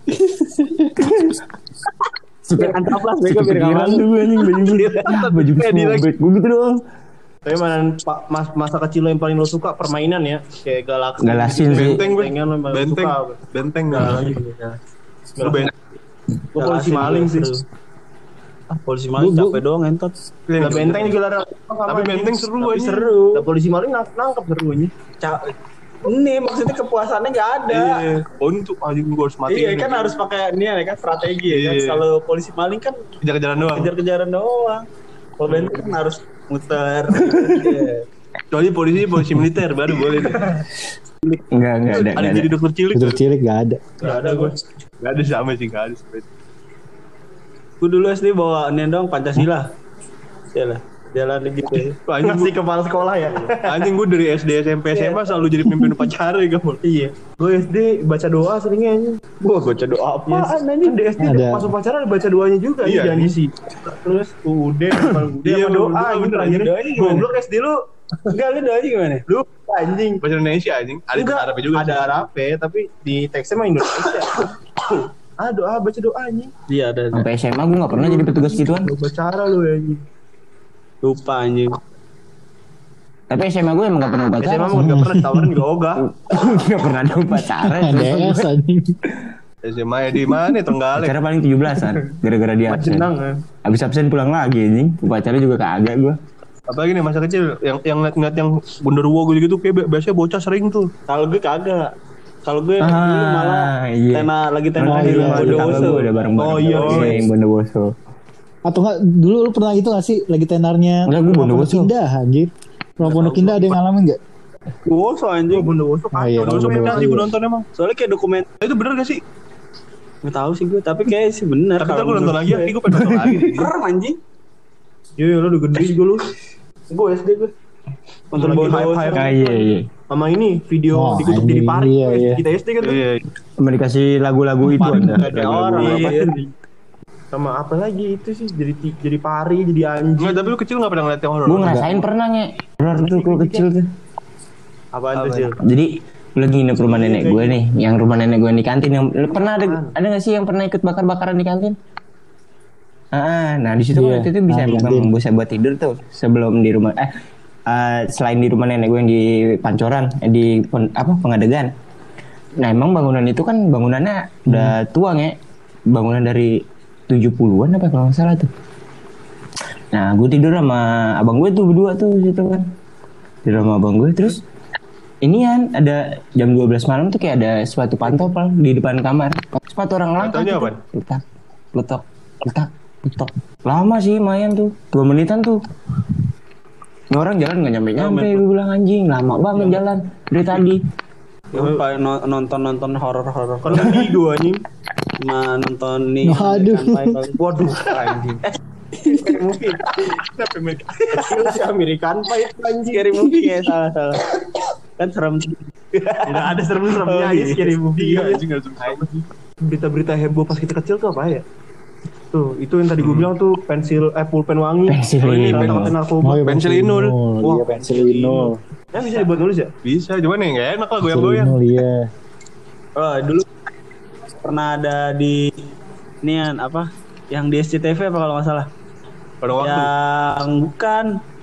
supir antaplas bego biar kepikiran tuh gue anjing baju gue. Baju gue sobek. Gue gitu doang. Tapi masa kecil lo yang paling lo suka permainan ya, kayak Galasin sih. Benteng gak lagi. Lu Gue polisi maling sih. Polisi maling capek doang entot. Lah benteng juga ada. Tapi benteng seru Tapi aja. seru. Lah polisi maling nangkep serunya. Ini maksudnya kepuasannya nggak ada. Iya. Oh itu anjing gue harus mati. Iya kan harus pakai ini ya kan strategi ya kan. Iya. Kalau polisi maling kan Kejar-kejaran doang. kejar-kejaran doang. Kalau benteng kan harus muter. Kecuali polisi militer baru boleh deh. Enggak ada. Ada jadi dokter cilik. Dokter cilik gak ada. Gak ada gue. Gak ada sama sih, gak ada. Gue dulu SD bawa ini dong Pancasila. Iyalah. Jalan gitu. Anjing Masih kepala sekolah ya. Anjing gue dari SD SMP SMA selalu jadi pemimpin upacara ya kamu. Iya. Gue SD baca doa seringnya anjing. Gua baca doa apaan anjing? Kan di SD Ada. pas upacara ada baca doanya juga Iya, jangan diisi. Terus udah Iya, sama doa bener, gitu bener, anjing. doanya gimana? Goblok SD lu. Enggak, lu doanya gimana? Lu anjing. Bahasa Indonesia anjing. Ada Enggak, Arabnya juga. ada Arabnya tapi di teksnya mah Indonesia. Doa baca doa anjing. Iya, ada. Sampai SMA gue nggak pernah jadi petugas gituan. Lu upacara lu anjing. Lupa anjing. Tapi SMA gue emang gak pernah upacara. SMA mah enggak pernah ditawarin juga ogah. Gak pernah ada upacara. DS anjing. SMA ya di mana Trenggalek. Upacara paling 17-an. Gara-gara dia absen. Jenang kan. Abis absen pulang lagi anjing. Upacara juga kagak gue. Apalagi nih masa kecil yang ngeliat yang Gondorwo gitu kayak biasanya bocah sering tuh. Kalau gue kagak. Kalau gue dulu malah iya. lagi tena Oh, di iya, rumah iya, Bondowoso. Gue udah bareng-bareng. Oh, iya, iya. Yang Bondowoso. Atau enggak dulu lu pernah gitu gak sih lagi tenarnya Enggak, gua Rumah Bondowoso. Pondok Indah anjir. Rumah Pondok Indah ada yang ngalamin enggak? Bondowoso anjing. Bondowoso Oh iya, Bondowoso Bondowoso. kan gue nonton emang. Soalnya kayak dokumen. Itu bener gak sih? Nggak tahu sih gue, tapi kayak sih bener. Tapi ntar gue nonton lagi ya, gue pengen nonton lagi. Keren anjing. Iya, lu udah gede juga lu. Gue SD gue. Nonton Lagi Bondowoso. hype-hype. Ah, iya. Sama ini video Oh, dikutuk anjing. jadi pari. Iya, iya. Kita SD kan tuh. Iya. Sama dikasih lagu-lagu itu ada. Ada orang. Iya. Apa? Sama apa lagi itu sih jadi pari, jadi anjing. Enggak, tapi lu kecil gak pernah ngeliat yang horor. Gue ngerasain pernah nge. Horor tuh gue kecil tuh. Apaan tuh sih? Jadi gue lagi nginep rumah nenek gue nih. Yang rumah nenek gue di kantin. Yang pernah ada gak sih yang pernah ikut bakar-bakaran di kantin? Nah di situ Iya. waktu itu bisa di kantin. memang bisa buat tidur tuh sebelum di rumah selain di rumah nenek gue yang di Pancoran di Pengadegan. Nah emang bangunan itu kan bangunannya udah tua nge, bangunan dari 70-an apa kalau nggak salah tuh. Nah gue tidur sama abang gue tuh berdua tuh situ kan, tidur sama abang gue terus inian ada jam 12 malam tuh kayak ada sepatu pantopel di depan kamar, sepatu orang langka Fotonya gitu. apaan? Letak. Lama sih lumayan tuh, 2 menitan tuh. Ini orang jalan nggak nyampe, gue bilang anjing, lama banget jalan dari tadi. Lupa nonton horor-horor. Kan di gua anjing. Cuma nonton nih. Waduh. Waduh, anjing. Scary movie. Kecil sih American Pie anjing. Scary movie ya, salah. Kan serem. Enggak ada serem-seremnya Oh, aja iya. scary movie. Iya, anjing gak suka. Berita-berita heboh pas kita kecil tuh apa ya? Tuh, itu yang tadi gue bilang tuh pulpen wangi. Pensil ini Inul. kata-kata narkoba. Oh, iya, Pensil Inul. Iya, pensil Inul. Ya bisa dibuat nulis ya? Bisa, cuman ya gak enak lah Pensil goyang-goyang. Inul, iya. Oh, dulu pernah ada di nian apa? Yang di SCTV apa kalau nggak salah? Pada waktu. Yang bukan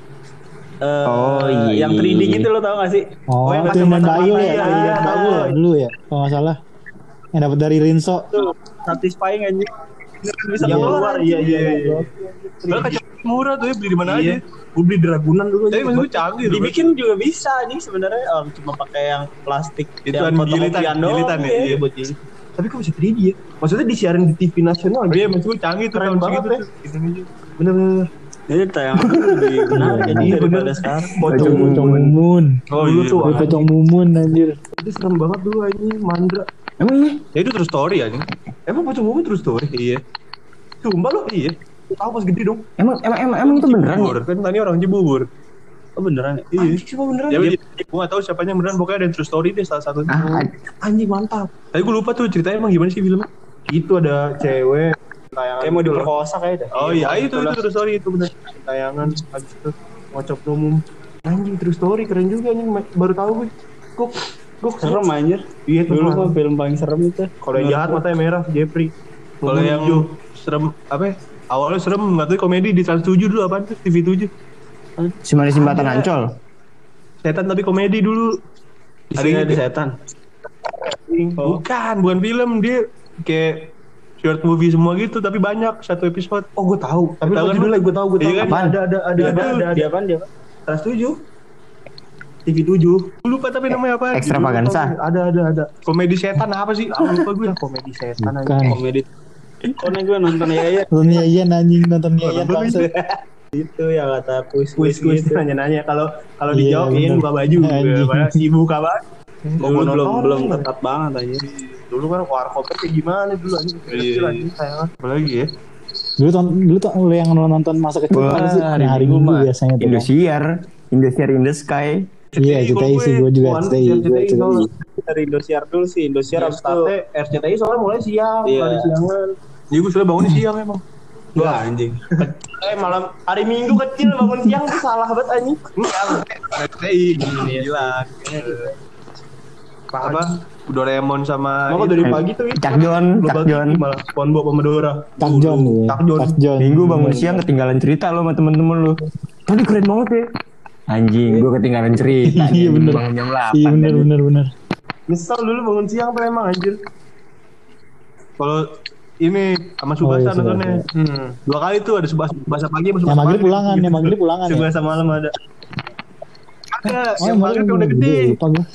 Oh, iya. yang 3D gitu lo tau gak sih? Oh, yang itu yang main kacamata Bayu mata, ya? iya, Iya, iya. Bayu ya dulu ya, kalau nggak salah. Yang dapat dari Rinso. Tuh, satisfying anjing. Bisa Yang keluar. keluar, iya. Padahal kacamata murah tuh ya, beli di mana aja. Gue beli di Ragunan dulu. Tapi maksud gue canggih tuh. Dibikin juga bisa anjing sebenarnya, orang cuma pakai yang plastik Itu yang kan fotokopian doang, gilitan ya. iya. Iya buat gili. Tapi kok bisa 3D ya? Maksudnya disiarin di TV nasional Iya, gitu. maksud gue canggih tuh Keren tahun banget segitu ya. tuh. Indonesia. Bener-bener. Jadi tayangan lebih menarik anjing Iya, daripada bener. sekarang. Pocong Mumun. Oh Dulu iya. tuh, Wih, Pocong Mumun anjir. Itu serem banget dulu anjing, Mandra. Emang iya? Ya itu true story anjing. Emang Pocong Mumun terus story? Iya. Sumpah lo? Iya. Tahu pas gede dong. Emang itu beneran Bubur ya? kan tadi orang Cibubur. Oh beneran ya? Iya. Anjing cuma beneran. Ya gue gak tahu siapanya beneran, pokoknya ada yang true story deh salah satunya. Anjing mantap. Tapi gue lupa tuh ceritanya emang gimana sih filmnya. Itu ada cewek tayangan. Kayak mau diperkosa kayak dah. Oh iya, itu true story itu bener. Tayangan habis itu ngocok umum. Anjing true story keren juga anjing. Baru tahu gue. Gue Serem anjir. Iya tuh. Dulu mah film paling serem itu. Kalau yang jahat matanya merah Jeffrey. Kalau yang serem apa ya? Awalnya serem, nggak tahu komedi di Trans 7 dulu apaan tuh, TV 7. Si Manis Jembatan Ancol. Setan tapi komedi dulu. Ada yang di setan. Bukan film, dia kayak short movie semua gitu tapi banyak satu episode. Oh gue tahu. Tapi Tahu tahu kan? judulnya gue tahu. Iya kan? Apaan? Ada. Dia apaan dia? Trans 7. TV 7. Gue lupa tapi namanya apa? Extravaganza. Ada. Komedi setan apa sih? Ah, lupa gue. Komedi setan aja. Bukan. Komedi. Karena gue nonton ya Nonton Yayan anjing, nonton Yayan bangsa. itu yang kata kuis Kuis gitu. nanya-nanya kalau Iya, dijawabin bener. buka baju. Anjing. Si buka baju. Dulu belum ketat banget aja. Dulu kan warkopnya kayak gimana dulu anjing. Iya. Kecil anjing sayangan. Apalagi ya? Dulu tuh lu yang nonton masa kecil apa sih? Yang hari Minggu biasanya tuh. Indosiar in the Sky. Iya, CTI sih gue juga CTI. Dari Indosiar dulu sih, Indosiar habis itu RCTI soalnya mulai siang, Iya. dari siangan. Iya gue sudah bangun siang emang. wah anjing. Malam hari Minggu kecil bangun siang tuh salah banget anjing. RCTI bilang. Apa? Doraemon sama Maka dari pagi tuh Cak Jon. malah SpongeBob sama Dora. Takjon nih. Takjon. Minggu bangun siang ketinggalan cerita lo sama temen-temen lo. Tadi keren banget ya. Anjing, gue ketinggalan cerita. Iya bener. Bangun jam 8. Iya bener. Nyesel dulu bangun siang tuh emang anjir. kalau ini sama Subasa iya, nontonnya. 2 kali tuh ada Subasa pagi sama Subasa Yang maghrib pagi. pulangan, yang maghrib pulangan ya. Subasa malam ada. Ada Oh, yang maghrib yang udah gede. Lupa gue.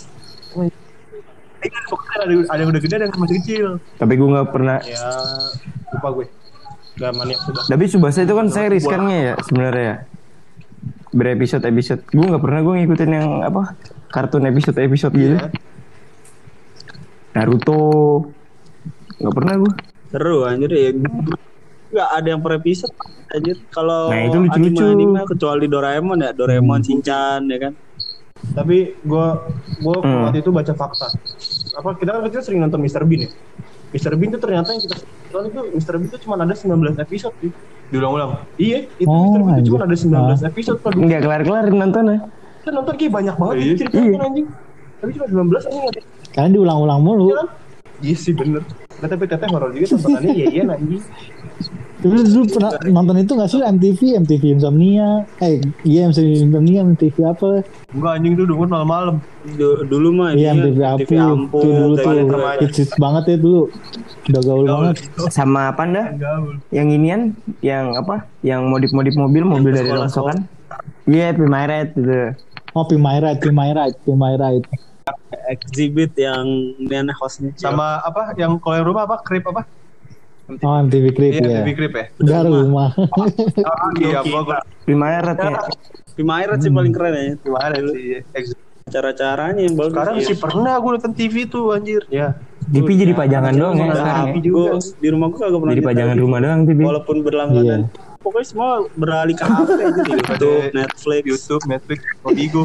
Ada yang udah gede ada yang masih kecil. Tapi gue gak pernah. Ya lupa gue. Gak maniak Subasa. Tapi Subasa itu kan series kan ya sebenarnya ya. Berepisode-episode. Gue gak pernah gue ngikutin yang apa kartun episode-episode gitu. Naruto. Gak pernah gue. Seru anjir ya. Enggak ada yang per episode anjir. Kalau Nah, itu lucu-lucu. anime kecuali Doraemon ya, Doraemon, Shinchan ya kan. Tapi gue waktu itu baca fakta. Apa kita kan kecil sering nonton Mr. Bean ya. Mr. Bean tuh ternyata yang kita tonton itu Mr. Bean tuh cuma ada 19 episode sih. Diulang-ulang. Iya, itu Oh, Mr. Bean tuh cuma anjir. ada 19 episode. Kalau Nggak kelar-kelar nontonnya. kita nonton kayak banyak banget Iya. ceritanya anjing. Tapi cuma 19 anjing ada. Karena diulang-ulang mulu. Iya kan? Iya sih bener. Nah, tapi teteh horor juga tontonannya iya anjing. Tapi dulu pernah nonton itu gak sih MTV Insomnia? Iya MTV Insomnia, MTV apa? Enggak anjing tuh dulu malam-malam. Dulu mah Iya MTV Ampu. Tuh dulu tuh hits banget ya dulu. Udah gaul banget. Sama apa dah? Yang inian, yang apa? Yang modif-modif mobil dari sekolah rongsokan. Iya, Pimaret gitu. Oh, Pimai Ride. exhibit yang mana hostnya. Sama apa yang kalau yang rumah apa? Krip apa? Oh, MTV Crib Iya, ya. TV Krip ya. Udah rumah. Iya, gua Pimaret ya. Pimaret sih paling keren ya. gimana sih? Cara-caranya yang bagus. Sekarang sih pernah gue nonton TV tuh anjir. ya. TV jadi pajangan doang ya sekarang ya. Gua di rumah gua kagak pernah Jadi nyetel pajangan TV. rumah doang TV. Walaupun berlangganan. Iya. Pokoknya semua beralih ke HP aja di YouTube, Netflix. YouTube, Netflix, Obigo.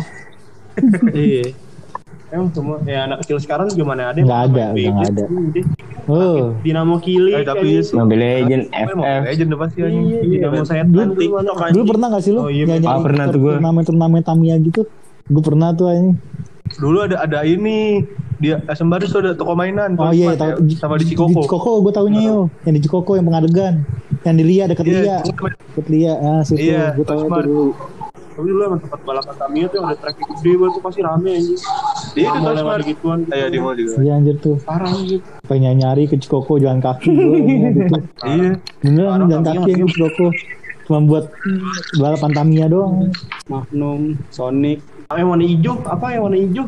Iya. Emang semua ya anak kecil sekarang juga mana ada yang Nggak ada, main udah nggak gadget. ada. Oh, Dinamo Kili. Tapi Mobile Legend, Mobile FF. Legend udah pasti anjing. Iya, Dinamo Setan Dulu dulu mana. TikTok dulu pernah gak sih lu Oh, iya, nyanyi pernah tuh gua. turnamen Tamiya gitu? Gue pernah tuh ini. Dulu ada ini dia Sembaris tuh ada toko mainan. Oh iya, Smart tahu ya, sama di Di Cikoko. Cikoko gue taunya yo. Yang di Cikoko yang pengadegan. Yang di Lia dekat Iya, Lia. Dekat Lia. Ah, situ Iya, gue tahu itu Smart. dulu. Tapi dulu emang tempat balapan Tamiya tuh yang ada track gede banget tuh pasti rame anjing. Dia itu Mau tuh lewat Smart. gituan. Iya di mall juga. Iya anjir tuh. Parah anjing. Pengen nyari ke Cikoko jalan kaki gue gitu. Iya. Beneran jalan kaki yang ke Cikoko. Cuma buat balapan Tamiya doang. Magnum, Sonic. Yang warna hijau, apa yang warna hijau?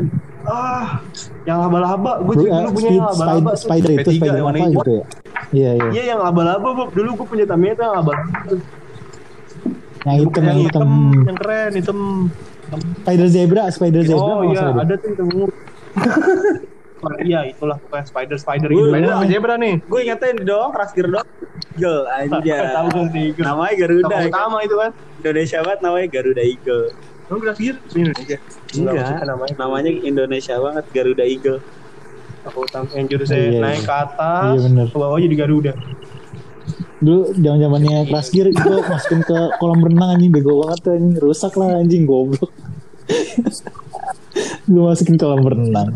Yang laba-laba. Gue juga dulu punya yang laba-laba. tuh. Spider itu P3 Spider yang warna apa hijau. gitu ya. Iya iya. Iya yang laba-laba, Bob. Dulu gue punya Tamiya tuh yang laba-laba. tuh. Yang hitam Yang yang hitam. yang keren, hitam. Spider Zebra Oh kalau nggak iya, salah deh. ada tuh yang ungu. Iya, itulah pokoknya spider Gua- gitu. Spider apa zebra nih? Gue ingetin doang, Rasgir doang. Eagle aja. Tahu kan sih. Namanya Garuda. Tokoh kan? utama itu kan. Indonesia banget namanya Garuda Eagle. Lu grafir di Indonesia. Enggak, namanya Indonesia banget Garuda Eagle. Aku utama yang jurusnya Iya, iya. naik ke atas, Iya, bener. ke bawah jadi Garuda. Dulu zaman-zamannya kelas gear gue masukin ke kolam renang anjing bego banget tuh anjing rusak lah anjing goblok. Gue masukin kolam renang.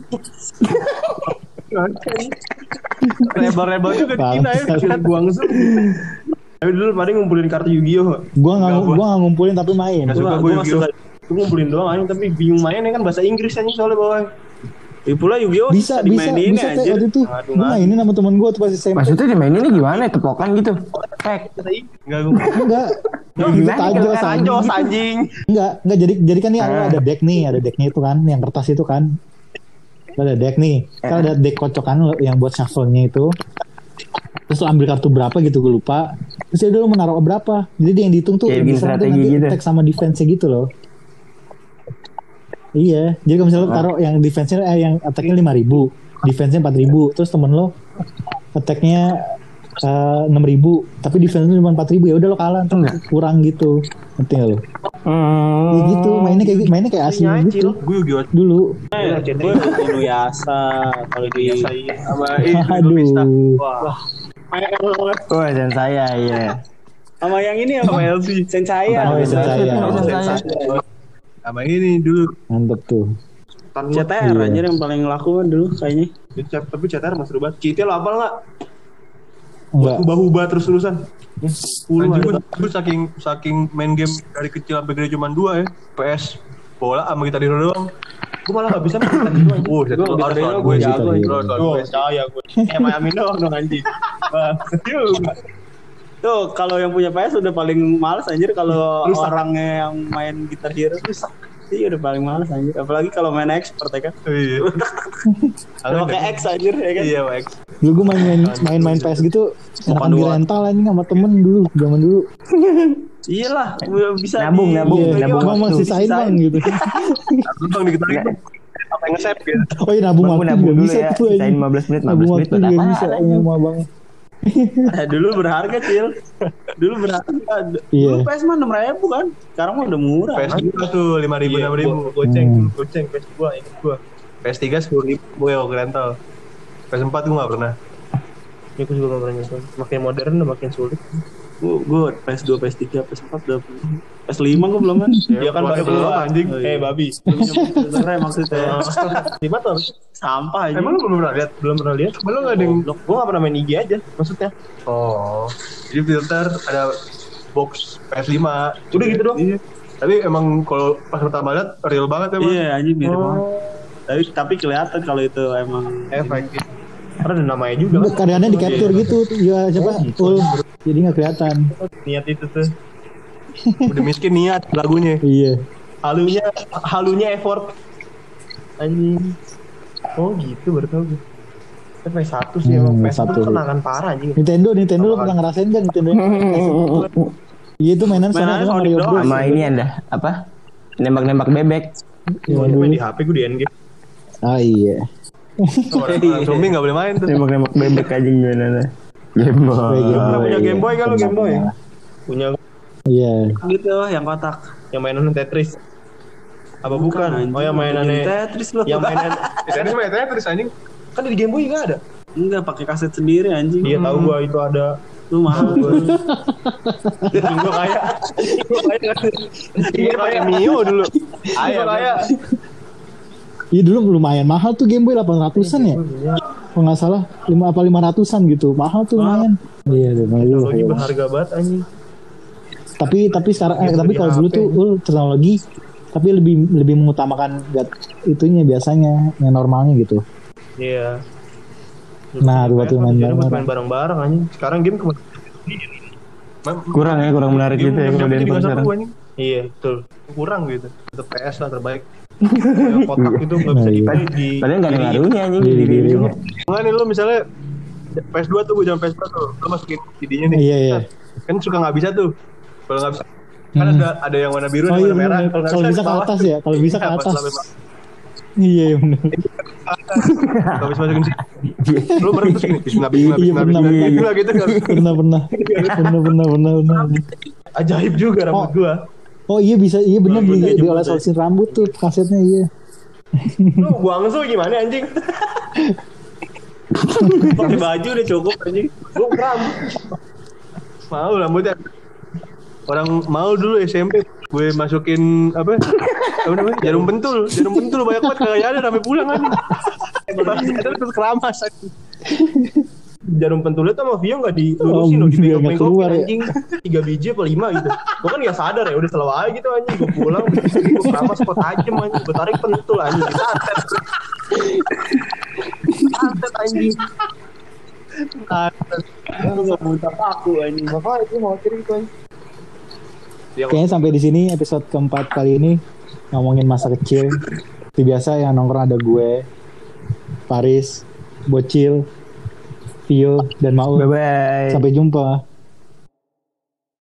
Lebar-lebar juga di Cina ya, Bangsat. kecil buang zoom. Tapi dulu paling ngumpulin kartu Yu-Gi-Oh. Gue nggak ngumpulin tapi main. Nggak suka Gua gue masuk. Gue ngumpulin doang anjing tapi bingung mainnya kan bahasa Inggris anjing soalnya bawah. Pula Yu-Gi-Oh Bisa dimainin teh anjir. waktu itu. Gue mainin sama temen gue tuh pas SMP. Maksudnya dimaininnya gimana? Tepokan gitu? Tek. Enggak gue. Enggak. Lu Gitu gimana tajos kalau anjing. Tajos anjing. Enggak jadi kan nih ada deck nih, ada decknya itu kan, yang kertas itu kan. Ada deck nih, kan ada deck kocokan yang buat shuffle-nya itu. Terus lo ambil kartu berapa gitu gue lupa. Terus dia dulu menaruh berapa. Jadi dia yang dihitung tuh Kayak bikin misalnya strategi nanti gitu. attack sama defense-nya gitu loh. Iya, jadi kalau misalnya lo taruh yang defense-nya yang attack-nya 5.000, defense-nya 4.000, terus temen lo attack-nya 6.000 tapi defense cuma 4.000 ya udah lo kalah ntar kurang gitu. Ngerti gak lo? Ya gitu mainnya kayak asli gitu Gue juga dulu. Gue Inuyasha kalau di sama ini Aduh. wah Wah, dan saya iya. sama yang ini sama LC Sensaya. Oh, ya, Sensaya. sama ini dulu. Mantep tuh. CTR Iya. anjir yang paling laku kan dulu kayaknya. Tapi CTR masih banget. Kita lo hafal nggak? Enggak. Ubah-ubah terus-terusan. Anjing gue saking main game dari kecil sampai gede cuma 2 ya. PS bola sama Gitar Hero doang. Gue malah nggak bisa main Gitar Hero anjing. Gue Gue harus lawan gue gue jago, sih. gue percaya gue. Miami doang dong anjing. Wah, juga. Tuh kalau yang punya PS udah paling males anjir kalau Rusak. orangnya yang main Gitar Hero rusak. Iya udah paling males anjir. Apalagi kalau main expert ya kan. Iya. Udah pakai X anjir ya kan. Iya, Max. Dulu gue main PS gitu enakan di rental anjing sama temen dulu zaman dulu. Iyalah, udah bisa Nabung, Iya, nabung cuma waktu. sisain bang gitu. Aku bang dikit lagi. Apa yang nge-save gitu. Oh iya nabung Bang, waktu nabung juga dulu bisa ya. tuh Sisain anjing. 15 menit Nabung buat waktu juga apaan, bisa anjing? sama bang. Dulu berharga Cil. Dulu berharga. Iya. Dulu PS mah 6.000 kan. Sekarang mah udah murah. PS 2 tuh 5.000 Iya, 6.000. goceng PS 2 ingat gue. PS 3 10.000 gue waktu rental. PS 4 gue gak pernah. Ya gue juga gak pernah nyoba. Makin modern makin sulit. Gue PS2, PS3, PS4 udah PS5 gue belum kan. Dia kan Keluarga belum belum, anjing. Oh, iya. babi. Sebenernya maksudnya Lima tahun. sampah aja. Emang lu belum pernah lihat? Belum pernah lihat. Emang lu gak ada yang... Gue gak pernah main IG aja maksudnya. Oh. Jadi filter ada box PS5. Udah gitu doang. Iya. Tapi emang kalau pas pertama lihat real banget emang. Iya anjing mirip banget. Tapi kelihatan kalau itu emang Efek. Karena ada namanya juga kan. Karyanya di capture gitu ya siapa? Full. Jadi nggak kelihatan. Niat itu tuh. Udah miskin niat lagunya. Iya. Halunya effort. Anjing. Oh gitu baru tau gue. PS1 sih emang PS1 PS1. tuh kenangan parah anjing. Nintendo lu pernah ngerasain kan Nintendo? Iya itu mainan sama Mainannya sama Sonic Mario doang. Bros. Sama ini ada apa? Nembak-nembak bebek. Gue main di HP gue di endgame. Ah iya. Orang zombie gak boleh main tuh. Nembak-nembak bebek aja gimana? Game Boy. Pernah punya Game Boy kan lu Game Boy? Punya Iya. gitu yang kotak. yang mainan Tetris. Apa bukan? Anjing. Oh yang mainannya Tetris lu. yang mainan Tetris main Tetris anjing. kan di Game Boy enggak ada. Enggak pakai kaset sendiri anjing. Iya tahu gua itu ada. Lu mahal gua. Gua kayak Iya kayak Mio dulu. Ayo kayak Iya dulu lumayan mahal tuh Game Boy 800-an ya. Kalau nggak salah 500-an gitu. Mahal tuh lumayan. Iya, teknologi berharga banget anjing. Tapi sekarang Gitu tapi di kalau dulu HP. tuh teknologi tapi lebih mengutamakan itunya biasanya yang normalnya gitu. Iya. Nah, buat main bareng-bareng. main bareng-bareng anjing. Sekarang game kemana? Kurang menarik gitu ya kalau Game handphone sekarang. anjing. Iya, betul. Kurang gitu. Tetap PS lah terbaik. Yang kotak itu enggak bisa Nah, iya. di Padahal nggak ada ngaruhnya anjing di Iya, diri iya. juga. Enggak nih lu misalnya PS2 tuh gue jangan PS2 tuh. Lu masukin CD-nya nih. Iya, iya. Kan suka nggak bisa tuh. Kalau nggak bisa kan ada yang warna biru Oh ada iya warna merah. bener. nggak Kalau bisa ke bawah. atas ya, kalau bisa ke Iya, pas atas. sampai Iya iya bener. Kalau bisa masukin sini. Lu merentus gini. Bismillah, bismillah, Iya, bismillah, pernah, bismillah, pernah. bismillah, gitu kan. Pernah. ajaib juga rambut gua. Oh iya bisa, iya bener di oles-olesin rambut tuh kasetnya iya. Lu Guangzhou gimana anjing? Pakai baju udah cukup anjing. Gua kram. Mau rambutnya. Orang mau dulu SMP gue masukin apa namanya jarum pentul banyak banget kagak ada sampai pulang kan. Terus keramas. Jarum pentulnya tuh sama Vio nggak dilurusin loh, Biar nggak keluar ya. anjing 3 biji apa 5 gitu. Gua kan nggak sadar ya, udah selalu aja gitu anjing. Gua pulang, gua keramas kok tajam anjing. Gua tarik pentul anjing, disantet. Santet anjing. Lu enggak muntah paku anjing. Makanya itu mau kirim itu anjing. Kayaknya sampai di sini episode keempat kali ini ngomongin masa kecil. Seperti biasa yang nongkrong ada gue, Paris, Bocil, Vio, dan Maul. Bye bye. Sampai jumpa.